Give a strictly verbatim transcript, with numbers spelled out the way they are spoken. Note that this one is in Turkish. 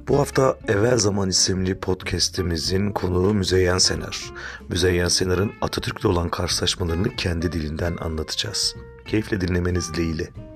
Bu hafta Evvel Zaman isimli podcast'imizin konuğu Müzeyyen Senar. Müzeyyen Senar'ın Atatürk'le olan karşılaşmalarını kendi dilinden anlatacağız. Keyifle dinlemeniz dileğiyle.